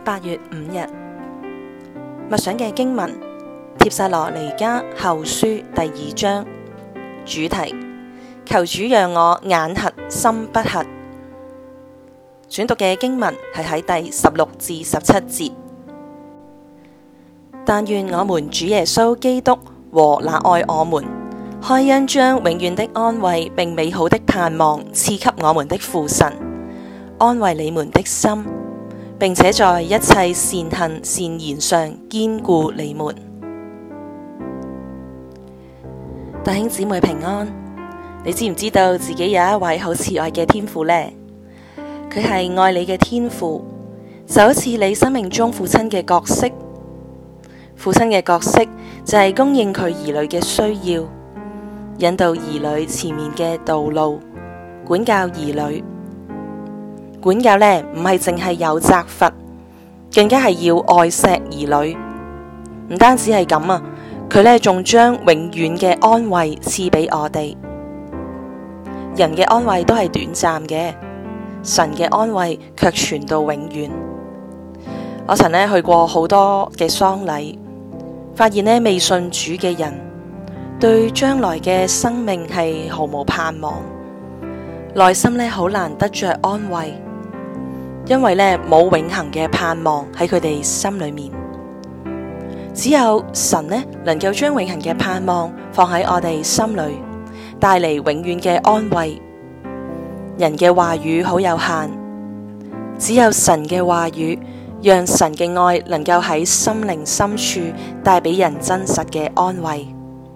8月5日默想嘅經文，帖撒羅尼迦後書第2章，主題：求主讓我眼瞎心不瞎。選讀嘅經文係喺第16至17節。但願我們主耶穌基督和那愛我們、開恩將永遠的安慰並美好的盼望賜給我們的父神，安慰你們的心，並且在一切善行善言上堅固你們。弟兄姊妹平安，你知唔知道自己有一位好慈愛嘅天父呢？佢係愛你嘅天父，就好似你生命中父親嘅角色。父親嘅角色就係供應佢兒女嘅需要，引導兒女前面嘅道路，管教兒女。管教呢，唔係淨係有責罰，更加係要愛錫兒女。唔單止係咁啊，佢呢仲將永遠嘅安慰賜俾我哋。人嘅安慰都係短暫嘅，神嘅安慰卻傳到永遠。我曾呢去過好多嘅喪禮，發現呢未信主嘅人對將來嘅生命係毫無盼望，內心呢好難得着安慰，因為呢冇永恆嘅盼望喺佢哋心裏面。只有神呢能夠將永恆嘅盼望放喺我哋心裏，帶嚟永遠嘅安慰。人嘅話語好有限，只有神嘅話語，讓神嘅愛能夠喺心靈深處帶俾人真實嘅安慰。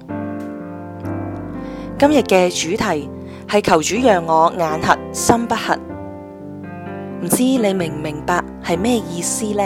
今日嘅主題係求主讓我眼瞎心不瞎。唔知你明唔明白係咩意思呢？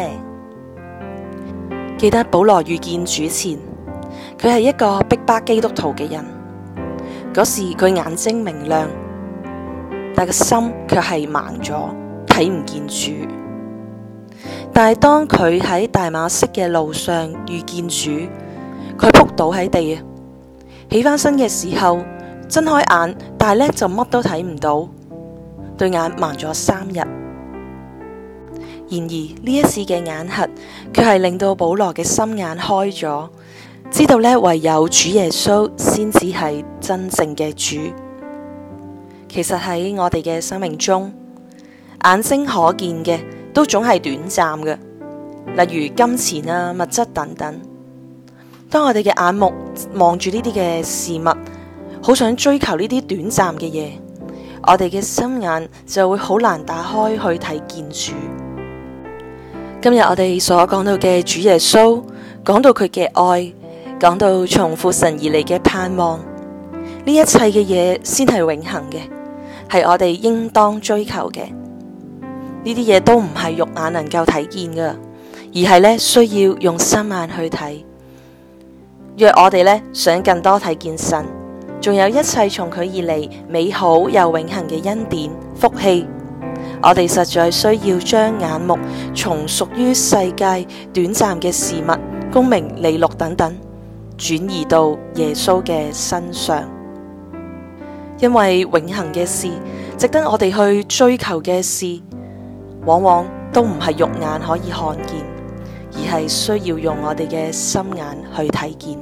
記得保羅遇見主前，佢係一個逼迫基督徒嘅人。嗰時佢眼睛明亮，但個心卻係盲咗，睇唔見主。但係當佢喺大馬色嘅路上遇見主，佢仆倒喺地啊！起返身嘅時候，睜開眼，但係呢就乜都睇唔到，對眼盲咗3日。然而呢一次嘅眼瞎，卻係令到保羅嘅心眼開咗，知道呢唯有主耶穌先至係真正嘅主。其實喺我哋嘅生命中，眼睛可見嘅都總係短暫嘅，例如金錢啊、物質等等。當我哋嘅眼目望住呢啲嘅事物，好想追求呢啲短暫嘅嘢，我哋嘅心眼就會好難打開去睇見主。今日我哋所講到嘅主耶穌，講到佢嘅愛，講到從父神而嚟嘅盼望，呢一切嘅嘢先係永恆嘅，係我哋應當追求嘅。呢啲嘢都唔係肉眼能夠睇見㗎，而係呢需要用心眼去睇。若我哋呢想更多睇見神，仲有一切從佢而嚟美好又永恆嘅恩典福氣，我哋實在需要將眼目從屬於世界短暫嘅事物、功名利祿等等，轉移到耶穌嘅身上。因為永恆嘅事，值得我哋去追求嘅事，往往都唔係肉眼可以看見，而係需要用我哋嘅心眼去睇見。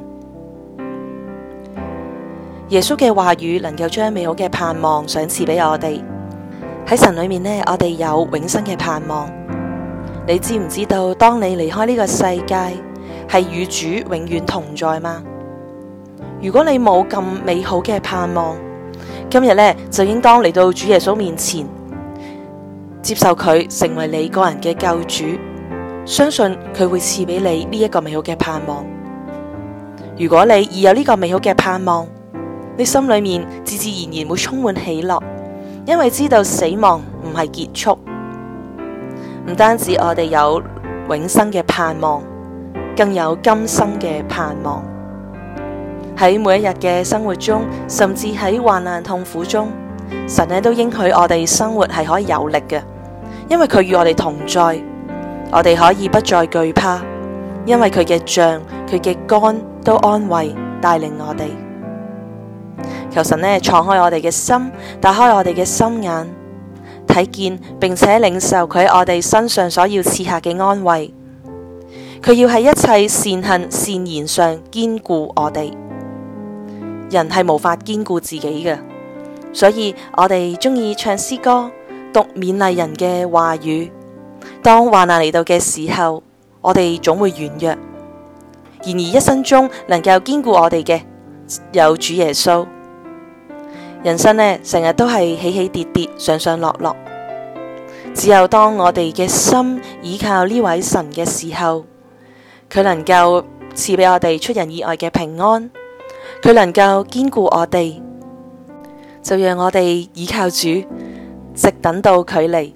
耶穌嘅話語能夠將美好嘅盼望賞賜俾我哋。喺神裏面呢，我哋有永生嘅盼望。你知唔知道，當你離開呢個世界，係與主永遠同在嗎？如果你冇咁美好嘅盼望，今日呢就應當嚟到主耶穌面前，接受佢成為你個人嘅救主，相信佢會賜俾你呢一個美好嘅盼望。如果你已有呢個美好嘅盼望，你心裏面自自然然會充滿喜樂，因為知道死亡唔係結束。唔單止我哋有永生嘅盼望，更有今生嘅盼望。喺每一日嘅生活中，甚至喺患難痛苦中，神呢都應許我哋生活係可以有力嘅，因為佢與我哋同在，我哋可以不再懼怕，因為佢嘅杖、佢嘅竿都安慰帶領我哋。求神呢敞開我哋嘅心，打開我哋嘅心眼， 睇見並且領受佢喺我哋身上所要賜下嘅安慰。佢要喺一切善行善言上堅固我哋。人係無法堅固自己嘅，所以我哋鍾意唱詩歌，讀勉勵人嘅話語。當患難嚟到嘅時候，我哋總會軟弱。然而一生中能夠堅固我哋嘅，有主耶穌。人生呢，成日都係起起跌跌，上上落落。只有當我哋嘅心倚靠呢位神嘅時候，佢能夠賜俾我哋出人意外嘅平安，佢能夠堅固我哋，就讓我哋倚靠主，直等到佢嚟。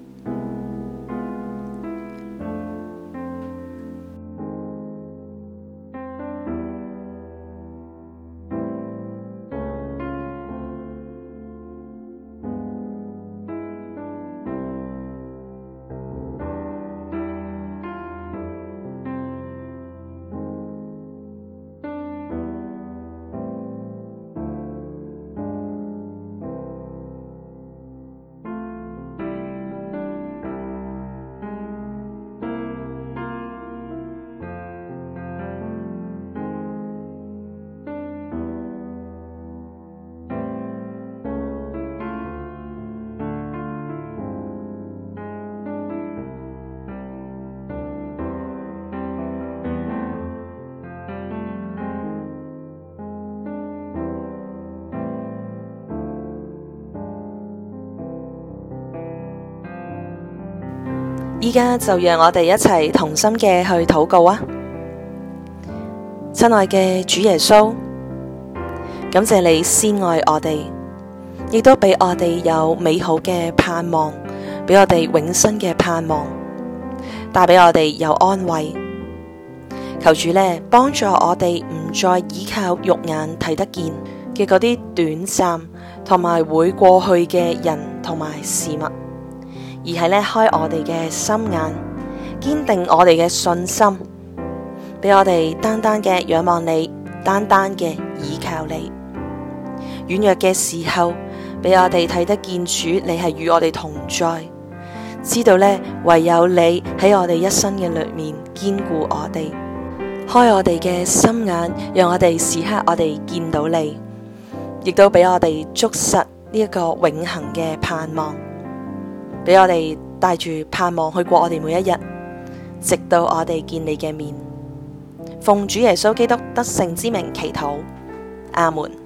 依家就讓我哋一齊同心嘅去禱告啊！親愛嘅主耶穌，感謝你先愛我哋，亦都俾我哋有美好嘅盼望，俾我哋永生嘅盼望，帶俾我哋有安慰。求主呢，幫助我哋唔再依靠肉眼睇得見嘅嗰啲短暫同埋會過去嘅人同埋事物，而係呢，開我哋嘅心眼，堅定我哋嘅信心，俾我哋單單嘅仰望你，單單嘅倚靠你。軟弱嘅時候，俾我哋睇得見主，你係與我哋同在，知道呢，唯有你喺我哋一生嘅裏面堅固我哋，開我哋嘅心眼，讓我哋時刻我哋見到你，亦都俾我哋捉實呢一個永恆嘅盼望。俾我哋帶住盼望去過我哋每一日，直到我哋見你嘅面。奉主耶穌基督得勝之名祈禱，阿門。